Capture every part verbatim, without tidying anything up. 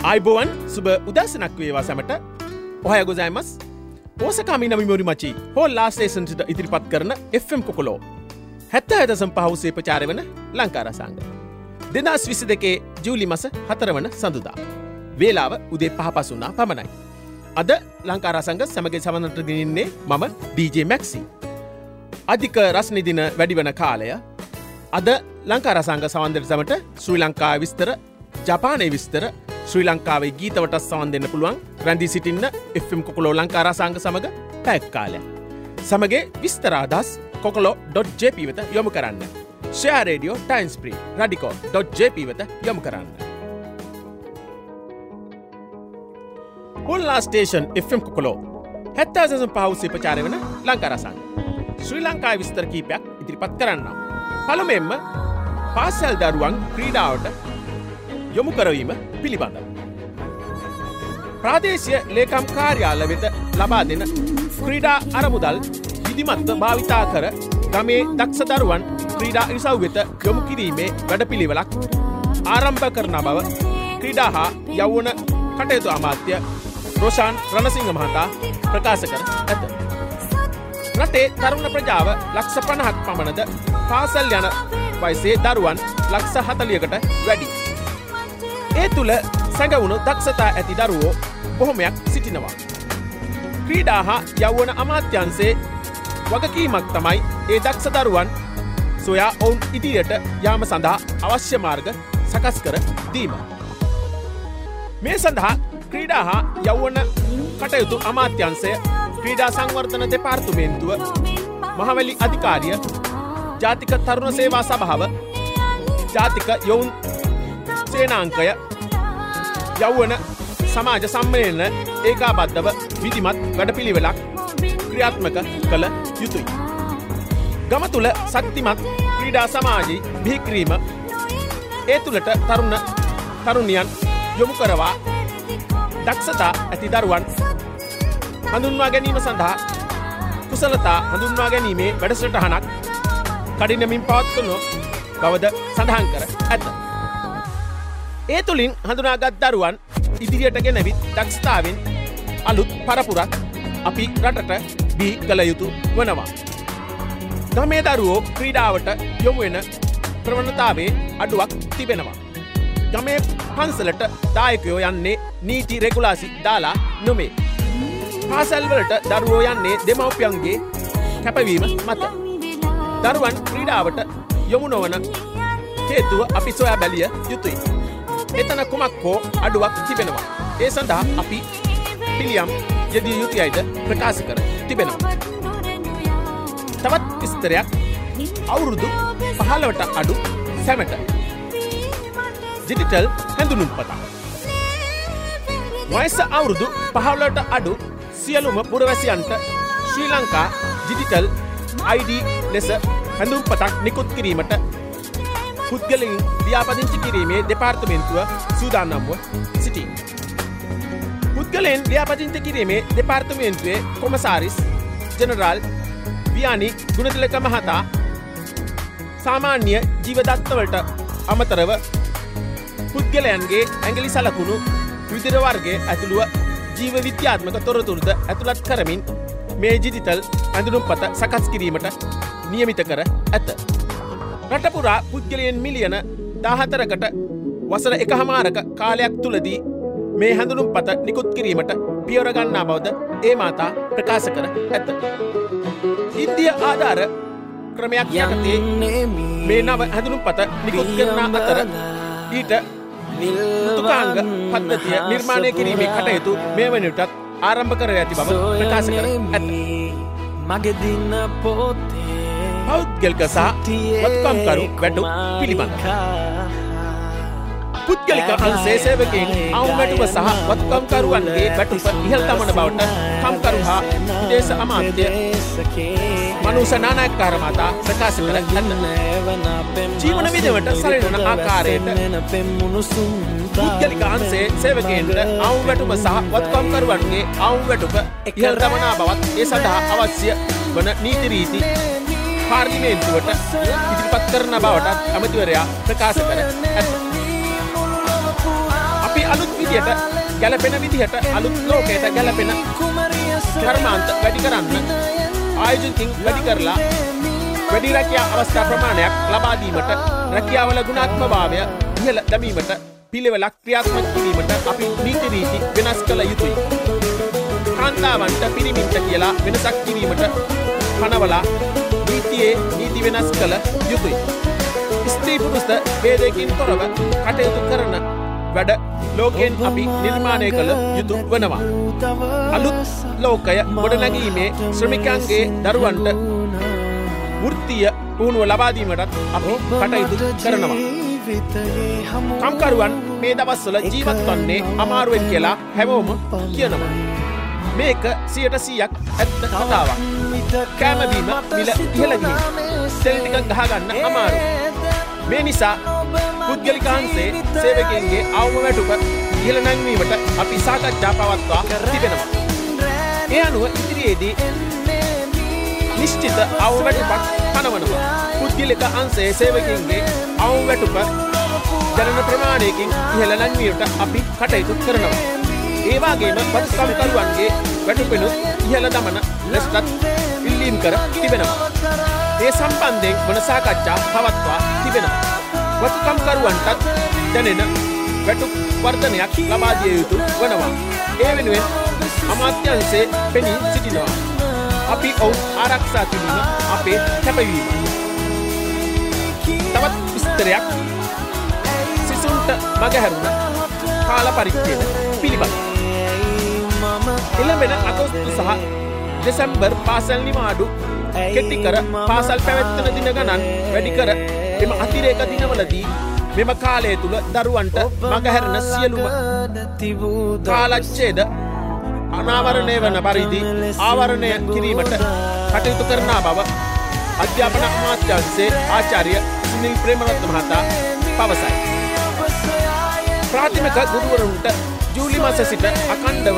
Aibowan suba udasanak වේවා සැමට. ඔහය ගොසයිමස්. ඕසකා මිනමි මොරිමචි හෝ ලාස්ට් ස්ටේෂන්ට ඉදිරිපත් කරන එෆ් එම් කොකොලෝ හැත්තෑ දශම පහ උසේ ප්‍රචාරය වන ලංකා රසාංග. දෙදහස් විසි දෙකේ ජූලි මාස හතර වන සඳුදා. වේලාව උදේ පහ පසුනා පමණයි. අද ලංකා රසාංග සමග සමනට ගෙනින්නේ මම ඩීජේ මැක්සි. අධික රස්නි දින වැඩි වන කාලය අද ලංකා රසාංග සවන් සමට ශ්‍රී ලංකාවේ විස්තර, ජපානයේ විස්තර, ශ්‍රී ලංකාවේ ගීතවට සවන් දෙන්න පුළුවන් රැඳී සිටින්න එෆ් එම් කොකොලෝ ලංකා රසාංග සමග පැයක් කාලයක්. සමගේ විස්තර අදහස් කොකොලෝ ඩොට් ජේ පී වෙත යොමු කරන්න. Share radio Times ප්‍රී රඩිකෝ dot J P වෙත යොමු කරන්න. හොල්ලා ස්ටේෂන් එෆ් එම් කොකොලෝ හැත්තෑ දශම පහ උසේ ප්‍රචාරය වන ලංකා රසාංග. ශ්‍රී ලංකාවේ විස්තර කීපයක් ඉදිරිපත් කරන්නම්. පළමුවෙන්ම පාසල් දරුවන් ක්‍රීඩාවට යොමු කරවීම පිළිබඳව. ප්‍රාදේශීය ලේකම් කාර්යාල වෙත ලබා දෙන ක්‍රීඩා අරමුදල් විධිමත්ව භාවිතා කර ගමේ දක්ෂ දරුවන් ක්‍රීඩා ඉසව් වෙත යොමු කිරීමේ වැඩපිළිවෙලක් ආරම්භ කරන බව ක්‍රීඩා හා යෞවන කටයුතු අමාත්‍ය රොෂාන් රණසිංහ මහතා ප්‍රකාශ කර ඇත. රටේ තරුණ ප්‍රජාව ලක්ෂ පනහක් පමණද පාසල් යන වයසේ දරුවන් ලක්ෂ හතලියකට වැඩි. ඒ තුළ සැඟවුණු දක්ෂතා ඇති දරුවෝ බොහොමයක් සිටිනවා. ක්‍රීඩා හා යෞවන අමාත්‍යංශයේ වගකීමක් තමයි ඒ දක්ෂ දරුවන් සොයා ඔවුන් ඉදිරියට යාම සඳහා අවශ්‍ය මාර්ග සකස් කර දීම. මේ සඳහා ක්‍රීඩා හා යෞවන කටයුතු අමාත්‍යංශය, ක්‍රීඩා සංවර්ධන දෙපාර්තමේන්තුව, මහවැලි අධිකාරිය, ජාතික තරුණ සේවා සභාව, ජාතික යොවුන් සේනාංකය, යෞවන සමාජ සම්මේලන ඒකාබද්ධව විධිමත් වැඩපිළිවෙලක් ක්‍රියාත්මක කළ යුතුයි. ගම තුළ ශක්තිමත් ක්‍රීඩා සමාජය බිහි කිරීම, ඒ තුළට තරුණ තරුණියන් යොමු කරවා දක්ෂතා ඇති දරුවන් හඳුන්වා ගැනීම සඳහා කුසලතා හඳුන්වා ගැනීමේ වැඩසටහනක් කඩිනමින් පවත්වනු බවද සඳහන් කර ඇත. ඒ තුළින් හඳුනාගත් දරුවන් ඉදිරියට ගෙනවිත් දක්ෂතාවෙන් අලුත් පරපුරක් අපි රටට බිහි කළ යුතු වනවා. ගමේ දරුවෝ ක්‍රීඩාවට යොමු වෙන ප්‍රවණතාවේ අඩුවක් තිබෙනවා. ගමේ පන්සලට දායකයෝ යන්නේ නීති රෙගුලාසි දාලා නොමේ. පාසල්වලට දරුවෝ යන්නේ දෙමව්පියන්ගේ කැපවීම මත. දරුවන් ක්‍රීඩාවට යොමු නොවන හේතුව අපි සොයා බැලිය යුතුයි. එතන කුමක් හෝ අඩුවක් තිබෙනවා. ඒ සඳහා අපි පිළියම් යෙදිය යුතුයයිද ප්‍රකාශ කර තිබෙනවා. තවත් විස්තරයක් අවුරුදු පහළොවට අඩු සැමට ඩිජිටල් හැඳුනුම්පතක්. වයස අවුරුදු පහළොවට අඩු සියලුම පුරවැසියන්ට ශ්‍රී ලංකා ඩිජිටල් ආයි ඩී ලෙස හැඳුම්පතක් නිකුත් කිරීමට පුද්ගලයන් ලියාපදිංචි කිරීමේ දෙපාර්තමේන්තුව සූදානම්ව සිටී. පුද්ගලයන් ලියාපදිංචි කිරීමේ දෙපාර්තමේන්තුවේ කොමසාරිස් ජෙනරාල් වියානි ගුණතිලක මහතා සාමාන්‍ය ජීවදත්තවලට අමතරව පුද්ගලයන්ගේ ඇඟිලි සලකුණු විදිර වර්ගයේ ඇතුළුව ජීව විද්‍යාත්මක තොරතුරුද ඇතුළත් කරමින් මේ ඩිජිටල් ඇඳුනුම්පත සකස් කිරීමට නියමිත කර ඇත. රටපුරා පුද්ගලයන් මිලියන දාහතරකට වසර එකහමාරක කාලයක් තුළදී මේ හැඳුනුම්පත නිකුත් කිරීමට පියවර ගන්නා බවද ඒ මාතා ප්‍රකාශ කර ඇත. ඉන්දිය ආධාර ක්‍රමයක් යටතේ මේ නව හැඳුනුම්පත නිකුත් කරන අතර ඊට මෘදුකාංග පද්ධතිය නිර්මාණය කිරීමේ කටයුතු මේ වන විටත් ආරම්භ කර ඇති බව ප්‍රකාශ කර ඇත. මගේ දින පොතේ පෞද්ගලික සහ වත්කම්කරු වැටුප් පිළිබඳ පුද්ගලික අංශයේ සේවකයන් අවුවැටුප සහ වත්කම්කරුවන්ගේ වැටුප ඉහළ දමන බවට කම්කරු හා විදේශ අමාත්‍ය මනුෂ්‍ය නානායක්කාර මහතා ප්‍රකාශ කර ඇත. ජීවන විදවට සරිලන ආකාරයට පුද්ගලික අංශයේ සේවකයන්ට අවුවැටුප සහ වත්කම්කරුවන්ගේ අවුවැටුප ඉහළ දමනා බවත් ඒ සඳහා අවශ්‍ය වන නීති රීති පාර්ලිමේන්තුවට ඉදිරිපත් කරන බවට ඇමතිවරයා ප්‍රකාශ කර ඇත. අපි අලුත් විදියට ගැලපෙන විදිහට අලුත් ලෝකයට ගැලපෙන කර්මාන්ත වැඩි කරන්න ආයෝජකින් වැඩි කරලා වැඩි රැකියා අවස්ථා ප්‍රමාණයක් ලබා දීමට රැකියාවල ගුණාත්මකභාවය ඉහළ දැමීමට පිළිවෙලක් ක්‍රියාත්මක කිරීමට අපි නීති රීති වෙනස් කළ යුතුයි. කාන්තාවන්ට පිරිමින්ට කියලා වෙනසක් කිරීමට පනවලා නීතියේ නීති වෙනස් කළ යුතුයි. ස්ත්‍රී පුරුෂ ભેදයකින් තොරව කටයුතු කරන වැඩ ලෝකයෙන් අපි නිර්මාණය කළ යුතු වනවා. අලුත් ලෝකය ගොඩනැගීමේ ශ්‍රමිකයන්ගේ දරුවන්ට වෘත්තීය පුහුණුව ලබා දීමටත් අපි කටයුතු කරනවා. කම්කරුවන් මේ දවස්වල ජීවත් වන්නේ අමාරුවෙන් කියලා හැමෝම කියනවා. මේක සියයට සීයක් ඇත්ත කතාවක්. කෑම බීම මිල ඉහළ ගිහින් තෙල් ටික ගහගන්න අමාරු. මේ නිසා පුද්ගලිකාංශයේ සේවකයන්ගේ අවම වැටුප ඉහළ නැංවීමට අපි සාකච්ඡා පවත්වා තිබෙනවා. ඒ අනුව ඉදිරියේදී නිශ්චිත අවම වැටුපක් පනවනවා. පුද්ගලික අංශයේ සේවකයන්ගේ අවම වැටුප ජනන ප්‍රමාණයකින් ඉහළ නැංවීමට අපි කටයුතු කරනවා. ඒ වගේම පත්කම්කරුවන්ගේ වැටුපෙනුත් ඉහළ දමන ලෙසටත් ඉල්ලීම් කර තිබෙනවා. ඒ සම්බන්ධයෙන් වන සාකච්ඡා පවත්වා තිබෙනවා. වත්කම්කරුවන්ටත් දැනෙන වැටුප් වර්ධනයක් ලබා දිය යුතු වනවා. ඒ වෙනුවෙන් අමාත්‍යාංශයේ පෙනී සිටිනවා. අපි ඔවුන් ආරක්ෂා කිරීම අපේ කැපවීම. තවත් විස්තරයක් සිසුන්ට මගහැරුණ කාල පරිච්ඡේද පිළිබඳ. එළඹෙන අගෝස්තු සහ දෙසැම්බර් පාසල් නිවාඩු කෙටි කර පාසල් පැවැත්වෙන දින ගණන් වැඩි කර එම අතිරේක දිනවලදී මෙම කාලය තුල දරුවන්ට මගහැරෙන සියලුම කාලච්ඡේද අනාවරණය වන පරිදි ආවරණය කිරීමට කටයුතු කරන බව අධ්‍යාපන අමාත්‍යාංශයේ ආචාර්ය සුනිල් ප්‍රේමරත්න මහතා පවසයි. ප්‍රාථමික ගුරුවරුන්ට ජූලි මාස සිට අඛණ්ඩව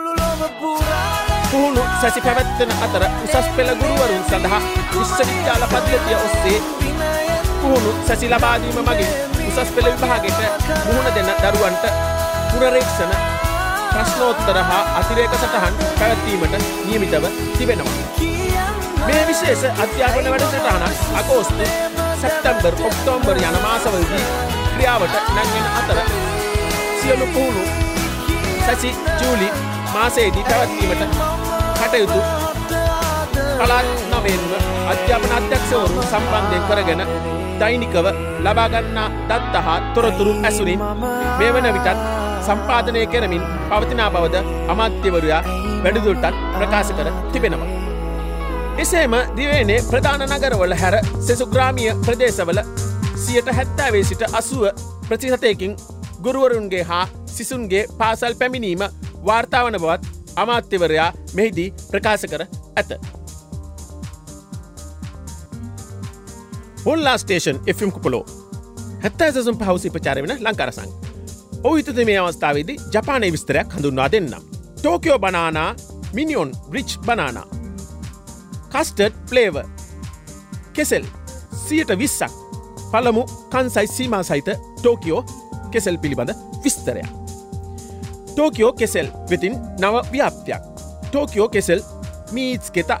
පුහුණු සැසි පැවැත්වෙන අතර උසස් පෙළ ගුරුවරුන් සඳහා විශ්වවිද්‍යාල පද්ධතිය ඔස්සේ පුහුණු සැසි ලබා දීම මගින් උසස් පෙළ විභාගයට මුහුණ දෙන දරුවන්ට පුනරීක්ෂණ ප්‍රශ්නෝත්තර හා අතිරේක සටහන් පැවැත්වීමට නියමිතව තිබෙනවා. මේ විශේෂ අධ්‍යාපන වැඩසටහනක් අගෝස්තු සැප්තැම්බර් ඔක්තෝබර් යන මාසවලදී ක්‍රියාවට නැංවෙන අතර සියලු පුහුණු සැසි ජූලි මාසයේදී පැවැත්වීමට කටයුතු පළාත් නවයෙන්ම අධ්‍යාපන අධ්‍යක්ෂවරුන් සම්බන්ධයෙන් කරගෙන දෛනිකව ලබා ගන්නා දත්ත හා තොරතුරු ඇසුරින් මේ වන විටත් සම්පාදනය කරමින් පවතිනා බවද අමාත්‍යවරයා වැඩිදුරටත් ප්‍රකාශ කර තිබෙනවා. එසේම දිවයිනේ ප්‍රධාන නගරවල හැර සෙසු ග්‍රාමීය ප්‍රදේශවල සියයට හැත්තෑවේ සිට අසූව ප්‍රතිශතයකින් ගුරුවරුන්ගේ හා සිසුන්ගේ පාසල් පැමිණීම වාර්තා වන බවත් අමාත්‍යවරයා මෙහිදී ප්‍රකාශ කර ඇත. මුල්ලා ස්ටේෂන් එෆ් එම් කුපලෝ හැත්තෑ දශම පහ ප්‍රචාරය වෙන ලංකාර සංඝ. ඔහු හිතද මේ අවස්ථාවේදී ජපානයේ විස්තරයක් හඳුන්වා දෙන්නම්. Tokyo banana මිනියොන් reach banana කස්ටර්ඩ් flavour කෙසෙල් සියයට විස්සක් පළමු කන්සයි සීමා සහිත ටෝකියෝ කෙසෙල් පිළිබඳ විස්තරයක්. ටෝකියෝ කෙසෙල් වෙතින් නව ව්‍යාප්තියක්. ටෝකියෝ කෙසෙල් මීට්ස් කෙත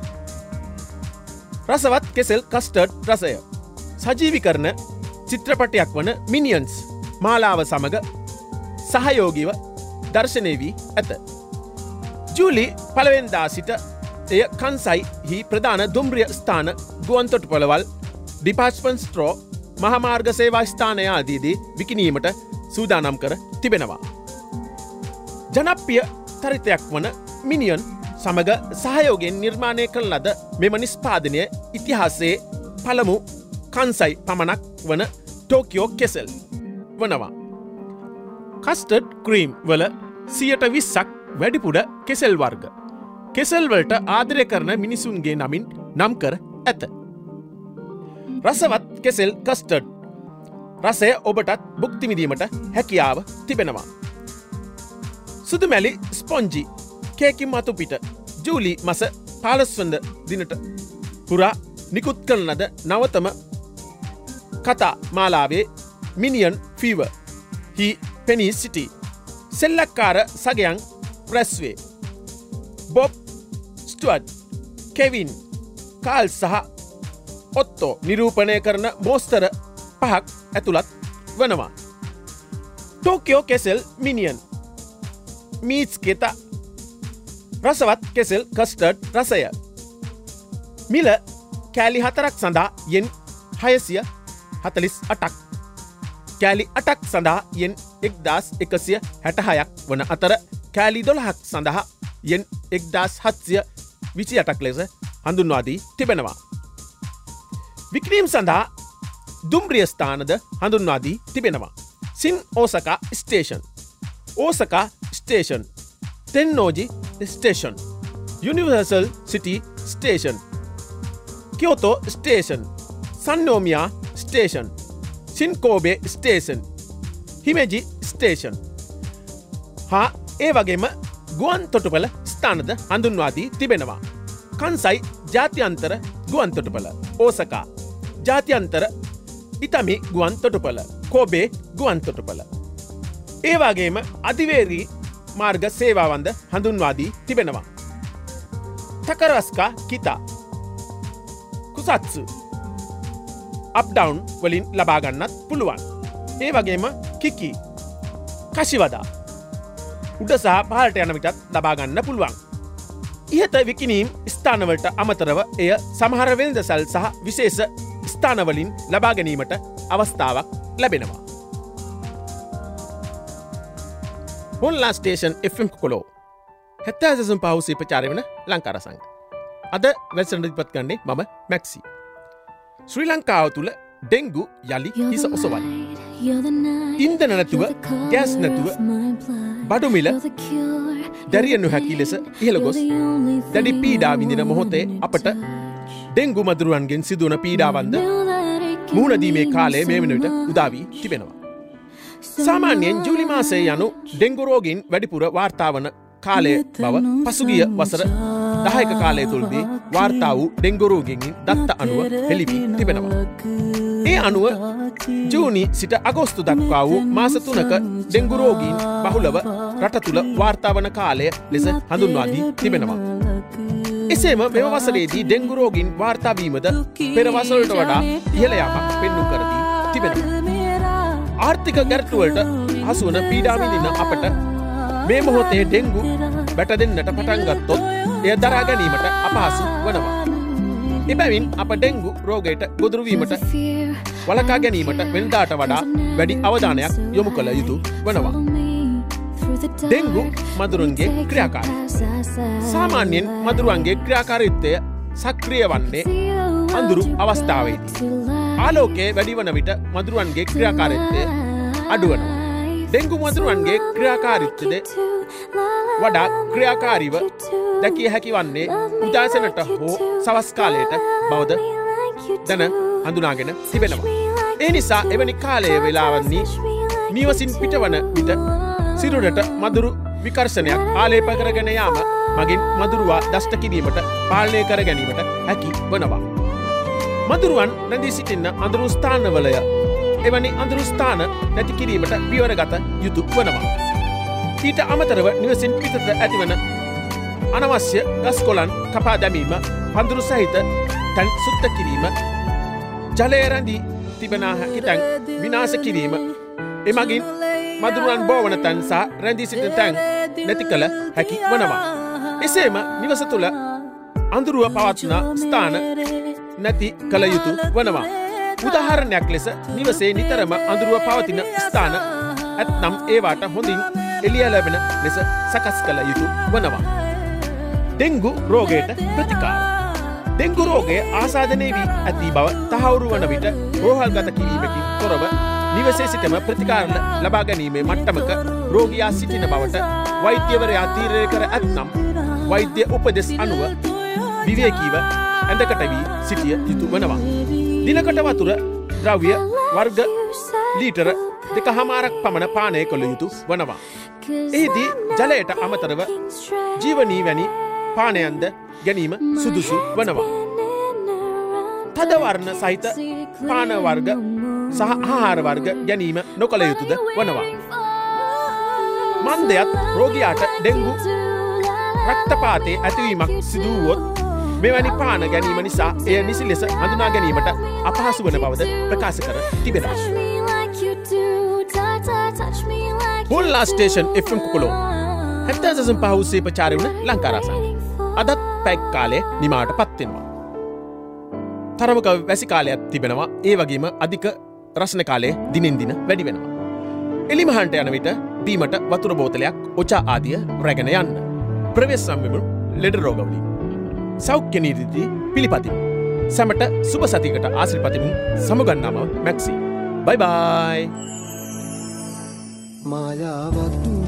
රසවත් කෙසෙල් කස්ටර්ඩ් රසය සජීවි කරන චිත්‍රපටයක් වන මිනියන්ස් මාලාව සමග සහයෝගීව දර්ශනය වී ඇත. ජූලි පළවෙනිදා සිට එය කන්සයි හි ප්‍රධාන දුම්රිය ස්ථාන ගුවන්තොටුපළවල් ඩිපාර්ට්මන්ට් ස්ටෝර් මහාමාර්ග සේවා ස්ථානය ආදීදී විකිණීමට සූදානම් කර තිබෙනවා. ජනප්‍රිය චරිතයක් වන මිනියන් සමග සහයෝගයෙන් නිර්මාණය කළ ලද මෙම නිෂ්පාදනය ඉතිහාසයේ පළමු කන්සයි පමණක් වන ටෝකියෝ කෙසෙල් වනවා. කස්ටර්ඩ් ක්‍රීම් වල සියයට විස්සක් වැඩිපුර කෙසෙල් වර්ග. කෙසෙල් වලට ආදරය කරන මිනිසුන්ගේ නමින් නම් කර ඇත. රසවත් කෙසෙල් කස්ටර්ඩ් රසය ඔබටත් භුක්ති විඳීමට හැකියාව තිබෙනවා. සුදුමැලි ස්පොන්ජි කේකින් මතු පිට ජූලි මස පහළොස්වන දිනට පුරා නිකුත් කරන ලද නවතම කතා මාලාවේ මිනියන් ෆීවර් හි පෙනී සිටි සෙල්ලක්කාර සගයන් රැස්වේ. බොබ් ස්ටුවර්ට්, කෙවින්, කාල් සහ ඔත්තෝ නිරූපණය කරන මෝස්තර පහක් ඇතුළත් වනවා. ටෝකියෝ කෙසෙල් මිනියන්, මීට්ස් කෙත රසවත් කෙසෙල් කස්ටර්ඩ් රසය. මිල කෑලි හතරක් සඳහා යෙන් හයසිය හතලිස් අටක්. කෑලි අටක් සඳහා යෙන් එක්දාස් එකසිය හැටහයක් වන අතර කෑලි දොළහක් සඳහා යෙන් එක්දාස් හත්සිය විසි අටක් ලෙස හඳුන්වාදී තිබෙනවා. වික්‍රීම් සඳහා දුම්රිය ස්ථානද හඳුන්වාදී තිබෙනවා. සින් ඕසකා ස්ටේෂන්, ඕසකා ස්ටේෂන්, තෙන්නෝජි ස්ටේෂන්, යුනිවර්සල් සිටි station, කියෝතෝ station, සන්නෝමියා station, සින්කෝබේ station, හිමෙජි station හා ඒ වගේම ගුවන් තොටුපළ ස්ථානද හඳුන්වාදී තිබෙනවා. කන්සයි ජාත්‍යන්තර ගුවන් තොටුපළ, ඕසකා ජාත්‍යන්තර ඉතමි ගුවන් තොටුපළ, කෝබේ ගුවන් තොටුපළ. ඒ වගේම අධිවේරී මාර්ග සේවාවන්ද හඳුන්වාදී තිබෙනවා. තකරස්කා කිතා, කුසත්සු අප්ඩවුන් වලින් ලබාගන්නත් පුළුවන්. ඒ වගේම කිකි, කශිවදා උඩ සහ පහළට යන විටත් ලබාගන්න පුළුවන්. ඉහත විකිනීම් ස්ථානවලට අමතරව එය සමහර වෙළඳසල් සහ විශේෂ ස්ථානවලින් ලබා ගැනීමට අවස්ථාවක් ලැබෙනවා. හොන්ලා ස්ටේෂන් එෆ් එම් කොලෝ හැත්තෑ දශම පහ ප්‍රචාරය වන ලංකාර සංග. අද වැඩසටහන ඉදිරිපත් කරන්නේ මම මැක්සි. ශ්‍රී ලංකාව තුළ ඩෙංගු යලි හිස ඔසවයි. ඉන්ධන නැතුව, ගෑස් නැතුව බඩු මිල දැරිය නොහැකි ලෙස ඉහළ ගොස් දැඩි පීඩා විඳින මොහොතේ අපට ඩෙංගු මදුරුවන්ගෙන් සිදුවන පීඩාවන්ද මුහුණදීමේ කාලය මේ වන විට උදා වී තිබෙනවා. සාමාන්‍යයෙන් ජූලි මාසයේ යනු ඩෙංගු රෝගීන් වැඩිපුර වාර්තා වන කාලය බව පසුගිය වසර දහයක කාලය තුළදී වාර්තා වූ ඩෙංගු රෝගීන්ගෙන් දත්ත අනුව හෙළි වී තිබෙනවා. ඒ අනුව ජූනි සිට අගෝස්තු දක්වා වූ මාස තුනක ඩෙංගු රෝගීන් බහුලව රට තුළ වාර්තා වන කාලය ලෙස හඳුන්වා දී තිබෙනවා. එසේම මෙම වසරේදී ඩෙංගු රෝගීන් වාර්තා වීමද පෙර වසරට වඩා ඉහළ යාමක් පෙන්නුම් කර දී තිබෙනවා. ආර්ථික ගැටලුවලට හසුවන පීඩා විඳින අපට මේ මොහොතේ ඩෙංගු බැට දෙන්නට පටන් ගත්තොත් එය දරා ගැනීමට අපහසු වනවා. එබැවින් අප ඩෙංගු රෝගයට ගොදුරු වීමට වළකා ගැනීමට වෙනදාට වඩා වැඩි අවධානයක් යොමු කළ යුතු වනවා. ඩෙංගු මදුරුන්ගේ ක්‍රියාකාරීත්වය. සාමාන්‍යයෙන් මදුරුවන්ගේ ක්‍රියාකාරීත්වය සක්‍රිය වන්නේ අඳුරු අවස්ථාවේදී. ආලෝකයේ වැඩි වන විට මදුරුවන්ගේ ක්‍රියාකාරීත්වය අඩුවනවා. ඩෙංගු මදුරුවන්ගේ ක්‍රියාකාරීත්වය වඩා ක්‍රියාකාරීව දැකිය හැකි වන්නේ උදෑසනට හෝ සවස් කාලයට බවද දැන හඳුනාගෙන තිබෙනවා. ඒ නිසා එවැනි කාලයේ වේලාවන්හි නිවසින් පිටවන විට සිරුරට මදුරු විකර්ෂණයක් ආලේප කරගෙන යාම මගින් මදුරුවා දෂ්ට කිරීමට පාලනය කර ගැනීමට හැකි වනවා. මදුරුවන් රැඳී සිටින්න අඳුරු ස්ථානවලය එවැනි අඳුරු ස්ථාන නැති කිරීමට පියවරගත යුතු වනවා. ඊට අමතරව නිවසින් පිටත ඇතිවන අනවශ්‍ය ගස් කොළන් කපා දැමීම, පඳුරු සහිත තැන් සුද්ධ කිරීම, ජලය රැඳී තිබෙන හැකි තැන් විනාශ කිරීම, එමගින් මදුරුවන් බෝවන තැන් සහ රැඳී සිටින තැන් නැති කළ හැකි වනවා. එසේම නිවස තුළ අඳුරුව පවත්න ස්ථාන නැති කළ යුතු වනවා. උදාහරණයක් ලෙස නිවසේ නිතරම අඳුරුව පවතින ස්ථාන ඇත්නම් ඒවාට හොඳින් එළිය ලැබෙන ලෙස සකස් කළ යුතු වනවා. ඩෙංගු රෝගයට ප්‍රතිකාර. ඩෙංගු රෝගය ආසාදනය වී ඇති බව තහවුරු වන විට රෝහල්ගත කිරීමකින් තොරව නිවසේ සිටම ප්‍රතිකාර ලබා ගැනීමේ මට්ටමක රෝගියා සිටින බවට වෛද්‍යවරයා තීරණය කර ඇත්නම් වෛද්‍ය උපදෙස් අනුව විවේකීව ඇඳකට වී සිටිය යුතු වනවා. දිනකට වතුර ද්‍රව්‍ය වර්ග ලීටර දෙක හමාරක් පමණ පානය කළ යුතු වනවා. එහිදී ජලයට අමතරව ජීවනී වැනි පානයන්ද ගැනීම සුදුසු වනවා. තදවර්ණ සහිත පාන වර්ග සහ ආහාර වර්ග ගැනීම නොකළ යුතුද වනවා. මන්දයත් රෝගියාට ඩෙංගු රක්තපාතයේ ඇතිවීමක් සිදුවුවොත් මෙවැනි පාන ගැනීම නිසා එය නිසි ලෙස හඳුනා ගැනීමට අපහසු වන බවද ප්‍රකාශ කර තිබෙනවා. මුල්ලා ස්ටේෂන් එෆ් එම් කුකුලෝ හැත්තෑ දශම පහ උස්සේ ප්‍රචාරය වුණ ලංකාරාසන් අදත් පැක් කාලය නිමාවට පත්වෙනවා. තරමක වැසි කාලයක් තිබෙනවා. ඒ වගේම අධික රස්න කාලය දිනෙන් දින වැඩි වෙනවා. එලිමහන්ට යන විට බීමට වතුර බෝතලයක් ඔචා ආදිය රැගෙන යන්න. ප්‍රවේශ සම්විමුණු ලෙඩ රෝගවලින් සෞඛ්‍ය නීති පිළිපදිමු. සැමට සුබ සතියකට ආශිර්වාද පතමින් සමුගන්නාම මැක්සි. බයි බයි. මායාවක්